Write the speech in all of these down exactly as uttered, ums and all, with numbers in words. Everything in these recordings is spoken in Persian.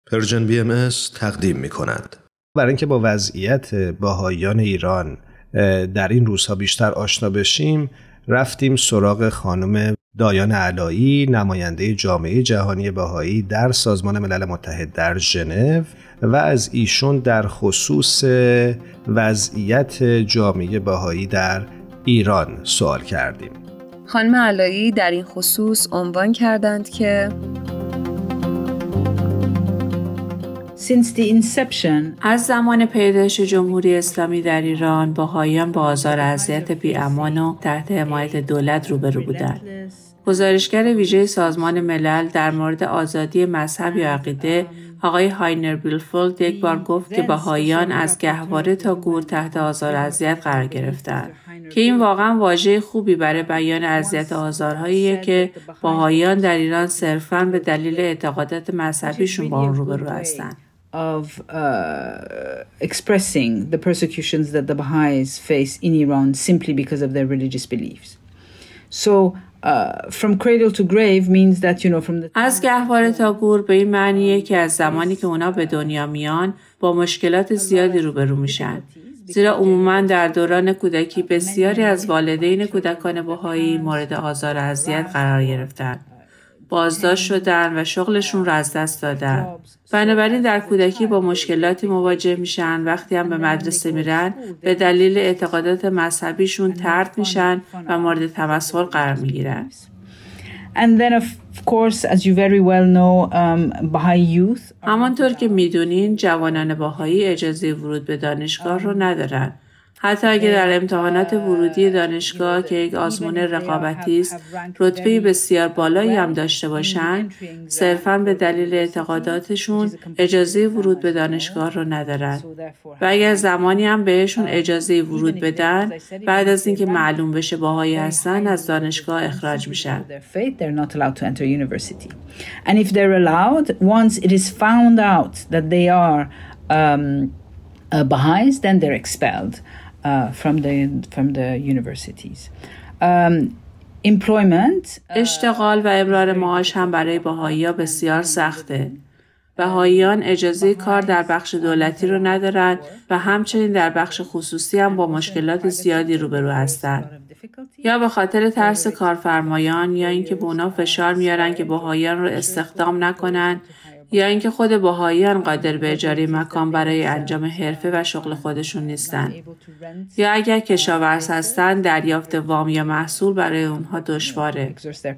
پرژن بی ام اس تقدیم می کند. برای اینکه با وضعیت بهائیان ایران در این روزها بیشتر آشنا بشیم، رفتیم سراغ خانم دایان علایی، نماینده جامعه جهانی بهایی در سازمان ملل متحد در ژنو، و از ایشون در خصوص وضعیت جامعه بهایی در ایران سوال کردیم. خانم علایی در این خصوص عنوان کردند که Since the inception, از زمان پیدایش جمهوری اسلامی در ایران، بهائیان با آزار و اذیت بی‌امان و تحت حمایت دولت روبرو بودند. گزارشگر ویژه سازمان ملل در مورد آزادی مذهب یا عقیده، آقای هاینر بیلفولد یک بار گفت که بهائیان از گهواره تا گور تحت آزار و اذیت قرار گرفتند، که این واقعا واژه خوبی برای بیان اذیت و آزارهاییه که بهائیان در ایران صرفاً به دلیل اعتقادات مذهبیشون با اون روبرو هستند. of uh, expressing the persecutions that the Baha'is face in Iran simply because of their religious beliefs. So uh, from cradle to grave means that, you know, from the از گهواره تا گور به این معنیه که از زمانی که اونا به دنیا میان با مشکلات زیادی روبرو میشن. زیرا عموماً در دوران کودکی بسیاری از والدین کودکان بهایی مورد آزار و اذیت قرار گرفتن. بازداشت شدن و شغلشون رو از دست دادن. بنابراین در کودکی با مشکلاتی مواجه میشن. وقتی هم به مدرسه میرن به دلیل اعتقادات مذهبیشون طرد میشن و مورد تمسخر قرار میگیرن. And then of course, as you very well know, um, Baha'i youth. همانطور که میدونین جوانان بهایی اجازه ورود به دانشگاه رو ندارن. حتی اگر در امتحانات ورودی دانشگاه که یک آزمون رقابتی است رتبه بسیار بالایی هم داشته باشند، صرفاً به دلیل اعتقاداتشون اجازه ورود به دانشگاه رو ندارن. و اگر زمانی هم بهشون اجازه ورود بدن، بعد از اینکه معلوم بشه بهایی هستن از دانشگاه اخراج میشن. They're not allowed to enter university. And if they're allowed, once it is found out that they are um, uh, Baha'is, then they're expelled. Uh, from the from the universities. Um, employment. اشتغال و ابرار معاش هم برای بهائی‌ها بسیار سخته. بهائیان اجازه کار در بخش دولتی رو ندارن و همچنین در بخش خصوصی هم با مشکلات زیادی روبرو هستند. یا به خاطر ترس کارفرمایان، یا اینکه به اونا فشار میارن که بهائیان رو استخدام نکنن، یا اینکه خود بهائیان قادر به اجاره مکان برای انجام حرفه و شغل خودشون نیستن. یا اگر کشاورز هستن دریافت وام یا محصول برای اونها دشواره.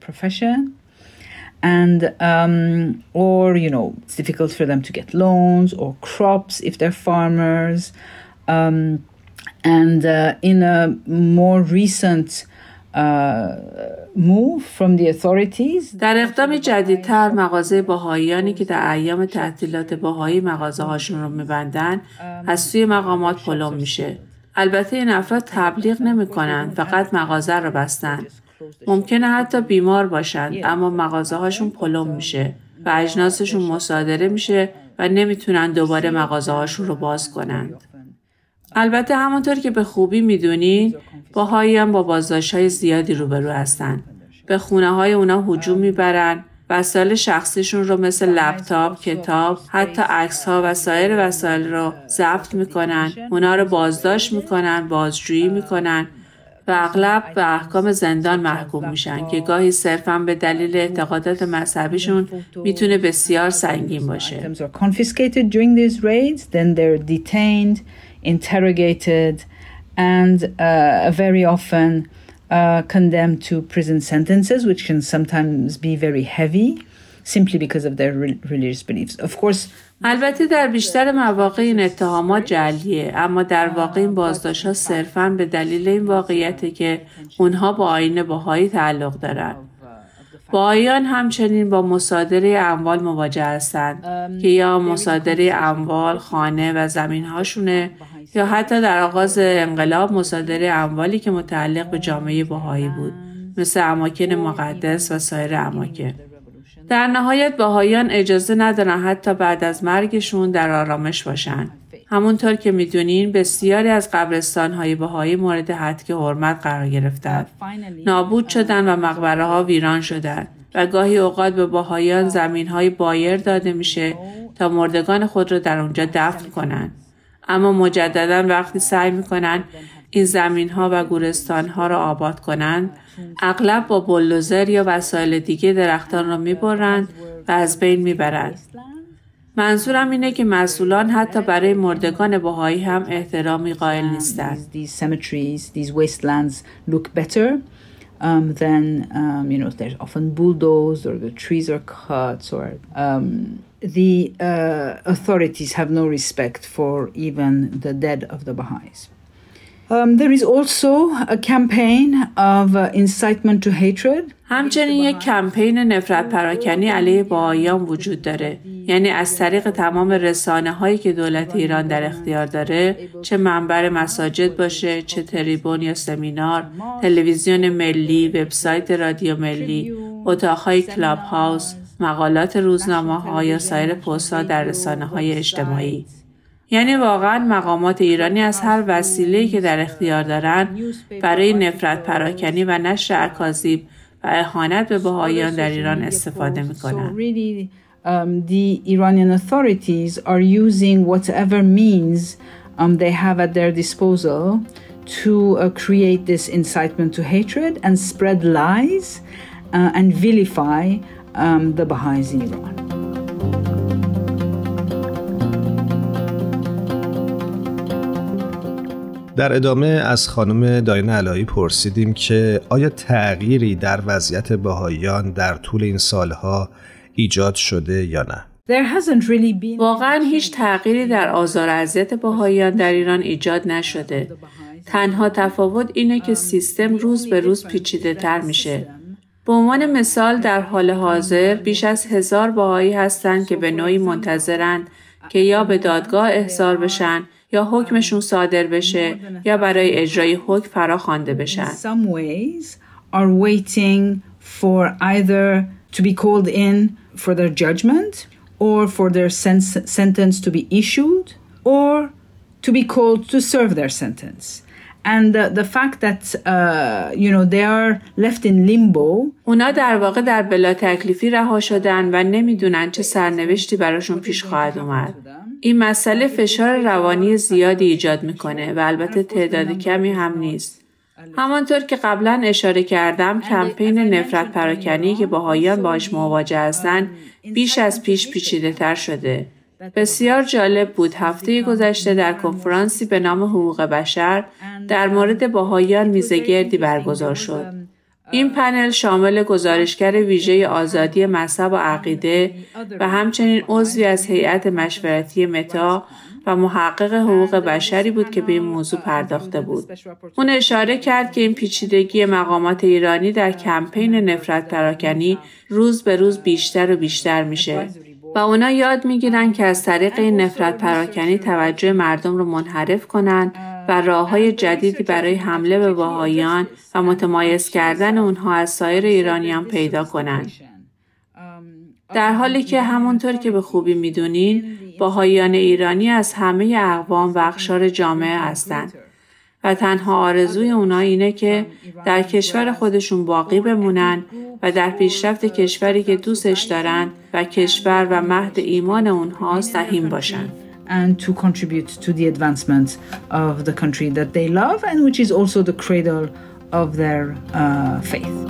And um, or you know it's difficult for them to get loans or crops if they're farmers. Um, and uh, in a more recent Uh, move from the authorities. در اقدام جدیدتر مغازه بهائیانی که در ایام تعطیلات بهایی مغازه هاشون رو میبندن از سوی مقامات پلم میشه. البته این افراد تبلیغ نمی کنن، فقط مغازه رو بستن. ممکنه حتی بیمار باشند اما مغازه هاشون پلم میشه و اجناسشون مصادره میشه و نمیتونن دوباره مغازه هاشون رو باز کنند. البته همونطور که به خوبی میدونین بهائیان با بازداشت‌های زیادی روبرو هستن. به خونه‌های اونا هجوم میبرن، وسایل شخصیشون رو مثل لپتاپ، کتاب، حتی عکس‌ها و سایر وسایل رو ضبط میکنن، اونا رو بازداشت میکنن، بازجویی میکنن و اغلب به احکام زندان محکوم میشن که گاهی صرفاً به دلیل اعتقادات مذهبیشون میتونه بسیار سنگین باشه. Interrogated and uh, very often uh, condemned to prison sentences, which can sometimes be very heavy, simply because of their re- religious beliefs. Of course. البته در بیشتر مواقع این اتهامات جعلیه، اما در واقع این بازداشت‌ها صرفاً به دلیل این واقعیته که اونها با آیین بهایی تعلق دارن. بهائیان همچنین با مصادره اموال مواجه هستند که یا مصادره اموال، خانه و زمین‌هاشونه، یا حتی در آغاز انقلاب مصادره اموالی که متعلق به جامعه بهایی بود، مثل اماکن مقدس و سایر اماکن. در نهایت بهائیان اجازه ندارن حتی بعد از مرگشون در آرامش باشن. همونطور که میدونین بسیاری از قبرستان‌های بهایی مورد هتک حرمت قرار گرفتند. نابود شدن و مقبره‌ها ویران شدند. و گاهی اوقات به بهائیان زمین‌های بایر داده میشه تا مردگان خود را در اونجا دفن کنن. اما مجدداً وقتی سعی میکنن این زمین‌ها و گورستان‌ها را آباد کنند، اغلب با بولدوزر یا وسایل دیگه درختان را میبرند و از بین میبرند. منظورم اینه که مسئولان حتی برای مردگان بهایی هم احترامی قائل نیستند. These cemeteries, these wastelands look better um, than, um, you know, there's often bulldozed or the trees are cut or um, the uh, authorities have no respect for even the dead of the Baha'is. Um, there is also a campaign of uh, incitement to hatred. همچنین یک کمپین نفرت پراکنی علیه بهائیان وجود داره. یعنی از طریق تمام رسانه هایی که دولت ایران در اختیار داره، چه منبر مساجد باشه، چه تریبون یا سمینار، تلویزیون ملی، وبسایت رادیو ملی، اتاقهای کلاب هاوس، مقالات روزنامه ها یا سایر پست ها در رسانه های اجتماعی. یعنی واقعا مقامات ایرانی از هر وسیله‌ای که در اختیار دارن برای نفرت پراکنی و نشر اکاذیب و اهانت به بهائیان در ایران استفاده میکنن. So really, um, the Iranian authorities are using whatever means um, they have at their disposal to uh, create this incitement to hatred and spread lies uh, and vilify um, the Baha'is in Iran. در ادامه از خانم دایان علایی پرسیدیم که آیا تغییری در وضعیت بهائیان در طول این سالها ایجاد شده یا نه؟ There hasn't really been... واقعا هیچ تغییری در آزار و اذیت بهائیان در ایران ایجاد نشده. تنها تفاوت اینه که سیستم روز به روز پیچیده تر میشه. به عنوان مثال در حال حاضر بیش از هزار بهایی هستند که به نوعی منتظرند که یا به دادگاه احضار بشن یا حکمشون صادر بشه یا برای اجرای حکم فراخوانده بشن. Some ways are waiting for either to be called in for their judgment or for their sen- sentence to be issued or to be called to serve their sentence. And the, the fact that uh, you know they are left in limbo. اونا در واقع در بلا تکلیفی رها شدن و نمیدونن چه سرنوشتی براشون پیش خواهد اومد. این مسئله فشار روانی زیادی ایجاد میکنه و البته تعداد کمی هم نیست. همانطور که قبلا اشاره کردم کمپین نفرت پراکنی که بهائیان باهاش مواجه هستن بیش از پیش پیچیده تر شده. بسیار جالب بود هفته گذشته در کنفرانسی به نام حقوق بشر در مورد بهائیان میزگردی برگزار شد. این پنل شامل گزارشگر ویژه آزادی مذهب و عقیده و همچنین عضوی از هیئت مشورتی متا و محقق حقوق بشری بود که به این موضوع پرداخته بود. اون اشاره کرد که این پیچیدگی مقامات ایرانی در کمپین نفرت پراکنی روز به روز بیشتر و بیشتر میشه و اونا یاد میگیرن که از طریق این نفرت پراکنی توجه مردم رو منحرف کنن و راه‌های جدیدی برای حمله به بهائیان و متمایز کردن اونها از سایر ایرانیان پیدا کنن. در حالی که همونطور که به خوبی میدونین بهائیان ایرانی از همه اقوام و اقشار جامعه هستند و تنها آرزوی اونا اینه که در کشور خودشون باقی بمونن و در پیشرفت کشوری که دوستش دارن و کشور و مهد ایمان اونها سهیم باشن. And to contribute to the advancement of the country that they love and which is also the cradle of their uh, faith.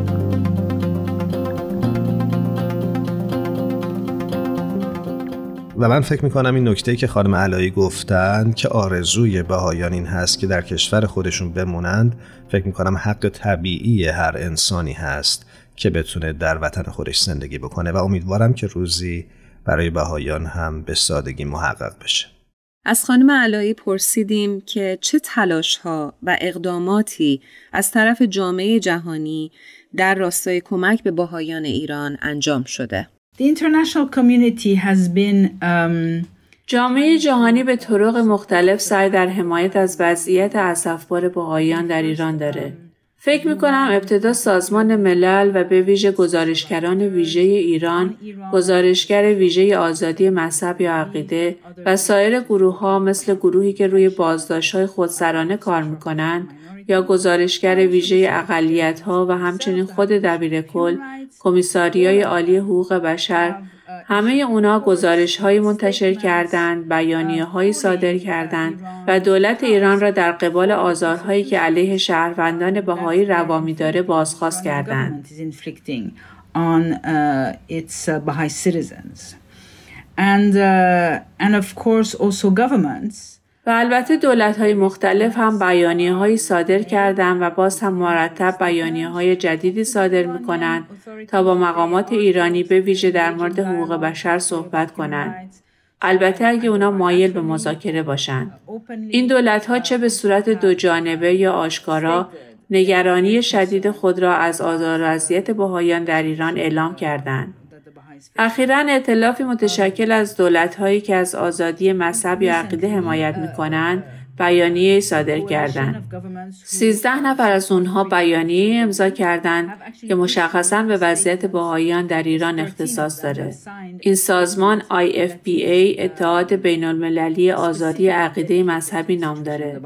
و من فکر میکنم این نکته‌ای که خانم علایی گفتن که آرزوی بهائیان این هست که در کشور خودشون بمونند، فکر میکنم حق طبیعی هر انسانی هست که بتونه در وطن خودش زندگی بکنه و امیدوارم که روزی برای بهائیان هم به سادگی محقق بشه. از خانم علایی پرسیدیم که چه تلاش‌ها و اقداماتی از طرف جامعه جهانی در راستای کمک به بهائیان ایران انجام شده. The international community has been um, جامعه جهانی به طرق مختلف سعی در حمایت از وضعیت اسفبار بهائیان در ایران داره. فکر می‌کنم ابتدا سازمان ملل و به ویژه گزارشگران ویژه ایران، گزارشگر ویژه آزادی مذهب یا عقیده و سایر گروه‌ها مثل گروهی که روی بازداشت‌های خودسرانه کار می‌کنند یا گزارشگر ویژه اقلیت‌ها و همچنین خود دبیرکل، کمیساریای عالی حقوق بشر، همه اونا گزارش‌هایی منتشر کردند، بیانیه‌هایی صادر کردند و دولت ایران را در قبال آزارهایی که علیه شهروندان بهایی روا می‌داره بازخواست کردند. on uh, its uh, Baha'i citizens. And, uh, and of course also governments. و البته دولت‌های مختلف هم بیانیه‌هایی صادر کردند و باز هم مرتب بیانیه‌های جدیدی صادر می‌کنند تا با مقامات ایرانی به ویژه در مورد حقوق بشر صحبت کنند. البته اگه اونا مایل به مذاکره باشند. این دولت‌ها چه به صورت دو جانبه یا آشکارا نگرانی شدید خود را از آزار و اذیت بهائیان در ایران اعلام کردند. اخیراً ائتلافی متشکل از دولت‌هایی که از آزادی مذهب یا عقیده حمایت می‌کنند، بیانیه صادر کردند. سیزده نفر از اونها بیانیه امضا کردند که مشخصاً به وضعیت بهائیان در ایران اختصاص داره. این سازمان آی اف پی ای اتحاد بین‌المللی آزادی عقیده مذهبی نام داره.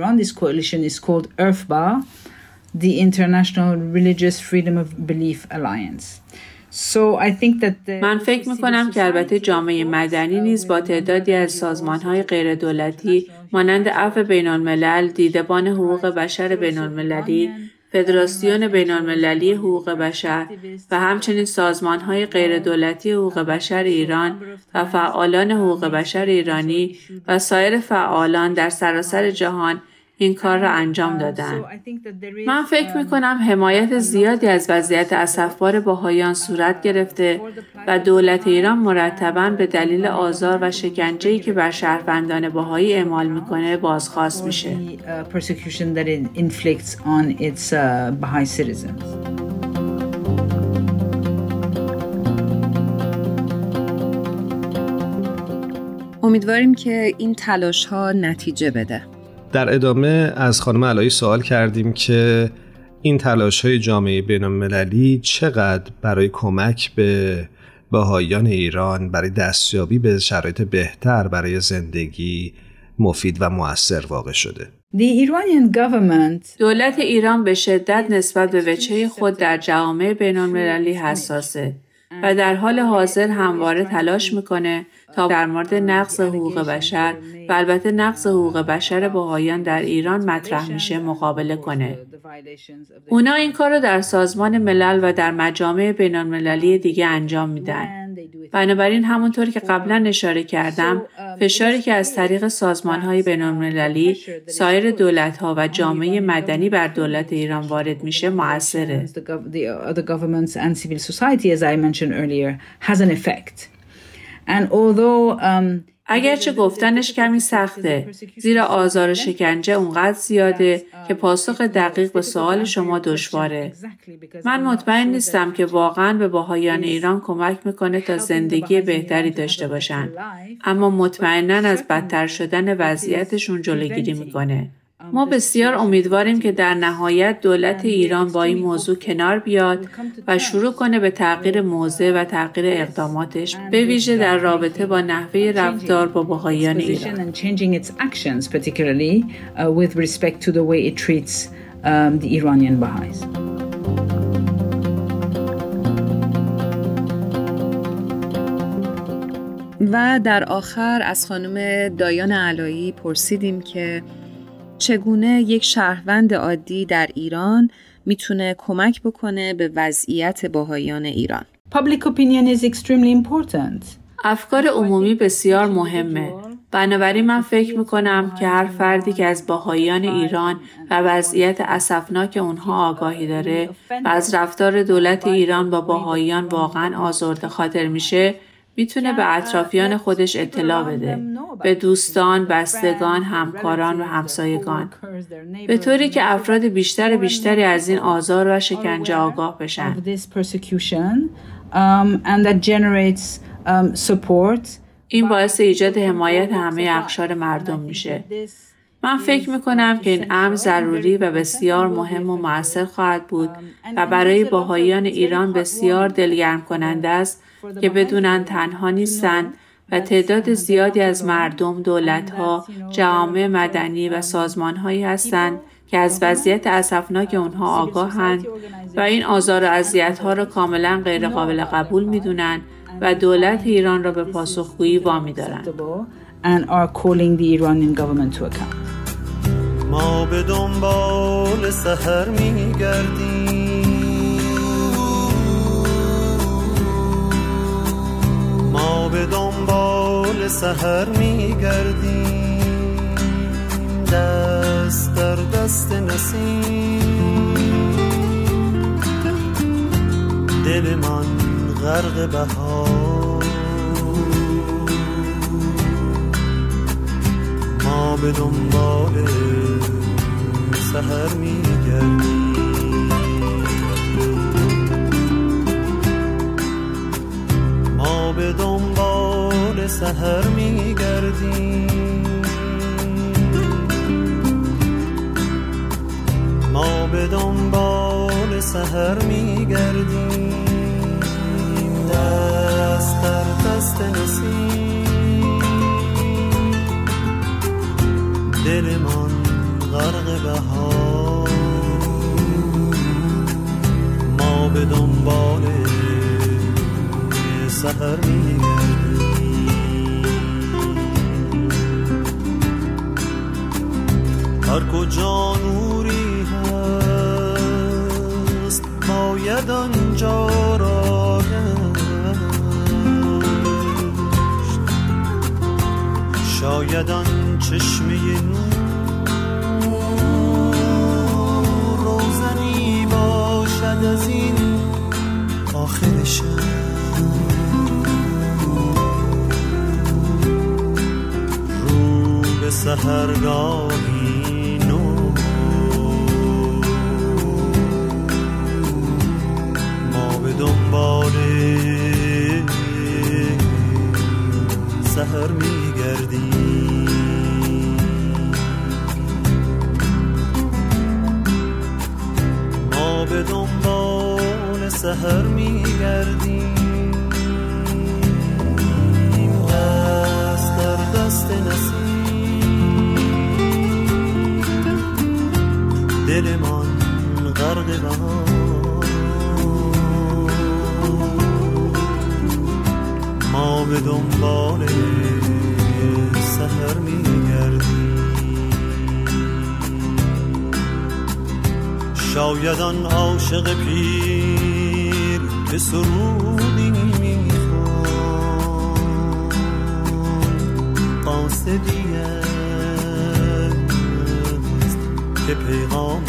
The International Religious Freedom of Belief Alliance. So I think that the من فکر می‌کنم که البته جامعه مدنی نیز با تعدادی از سازمان‌های غیردولتی مانند عفو بین‌الملل، دیدبان حقوق بشر بین‌المللی، فدراسیون بین‌المللی حقوق بشر و همچنین سازمان‌های غیردولتی حقوق بشر ایران و فعالان حقوق بشر ایرانی و سایر فعالان در سراسر جهان این کار را انجام دادند. من فکر می‌کنم حمایت زیادی از وضعیت اسفبار بهائیان صورت گرفته و دولت ایران مرتباً به دلیل آزار و شکنجه‌ای که بر شهروندان بهایی اعمال می‌کنه بازخواست میشه. امیدواریم که این تلاش‌ها نتیجه بده. در ادامه از خانم علایی سوال کردیم که این تلاش‌های جامعه بین‌المللی چقدر برای کمک به بهائیان ایران برای دستیابی به شرایط بهتر برای زندگی مفید و مؤثر واقع شده. The Iranian government دولت ایران به شدت نسبت به وجهه خود در جامعه بین‌المللی حساسه و در حال حاضر همواره تلاش میکنه تا در مورد نقض حقوق بشر و البته نقض حقوق بشر بهائیان در ایران مطرح میشه مقابله کنه. اونا این کار رو در سازمان ملل و در مجامع بین‌المللی دیگه انجام میدن. بنابراین همونطور که قبلا اشاره کردم، فشاری که از طریق سازمان‌های بین‌المللی، سایر دولت‌ها و جامعه مدنی بر دولت ایران وارد میشه مؤثره. اگرچه گفتنش کمی سخته، زیرا آزار و شکنجه اونقدر زیاده که پاسخ دقیق به سوال شما دشواره. من مطمئن نیستم که واقعاً به بهائیان ایران کمک میکنه تا زندگی بهتری داشته باشن، اما مطمئناً از بدتر شدن وضعیتشون جلوگیری میکنه. ما بسیار امیدواریم که در نهایت دولت ایران با این موضوع کنار بیاد و شروع کنه به تغییر موضع و تغییر اقداماتش، به ویژه در رابطه با نحوه رفتار با بهائیان ایران. و در آخر از خانم دایان علایی پرسیدیم که چگونه یک شهروند عادی در ایران میتونه کمک بکنه به وضعیت بهائیان ایران. Public opinion is extremely important. افکار عمومی بسیار مهمه. بنابراین من فکر میکنم که هر فردی که از بهائیان ایران و وضعیت اسفناک اونها آگاهی داره و از رفتار دولت ایران با بهائیان واقعا آزرده خاطر میشه، میتونه به اطرافیان خودش اطلاع بده، به دوستان، بستگان، همکاران و همسایگان، به طوری که افراد بیشتر بیشتری از این آزار و شکنجه آگاه بشن. این باعث ایجاد حمایت همه اقشار مردم میشه. من فکر میکنم که این امر ضروری و بسیار مهم و مؤثر خواهد بود و برای بهائیان ایران بسیار دلگرم کننده است که بدونن تنها نیستند و تعداد زیادی از مردم، دولت‌ها، جوامع مدنی و سازمان‌هایی هستند که از وضعیت اسفناک اونها آگاهند و این آزار و اذیت‌ها را کاملا غیر قابل قبول می‌دونن و دولت ایران را به پاسخگویی وامی دارند. And are calling the Iranian government to account. ما به دنبال سحر می‌گردیم، ما به دنبال سحر می‌گردیم، دست در دست نسیم، دل من غرق بهار، ما به دنبال سحر می‌گردیم، ما به دنبال سحر می‌گردیم، ما به دنبال سحر می‌گردیم، دست در دست نسیم، دل من غرق بهار، ما به دنبال سحر می‌گردیم. هر کجا نوری هست باید آنجا را گشت، شاید آن چشمه نور روزنی باشد از این آخر شب، رو به سحرگاهی نو، ما به دنبال سحر می‌گردیم، ما به دنبال سحر می‌گردیم، دست در دست نسیم، دل من غرق بهار، ما به دنبال سحر می‌گردیم، شاید آن عاشق پیر که سرودی می‌خواند، قاصدی است که پیغام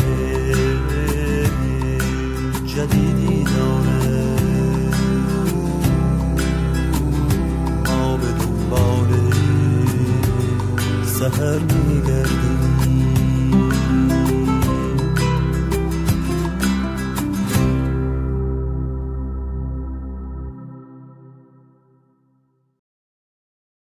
جدیدی دارد، ما به دنبال سحر می‌گردیم.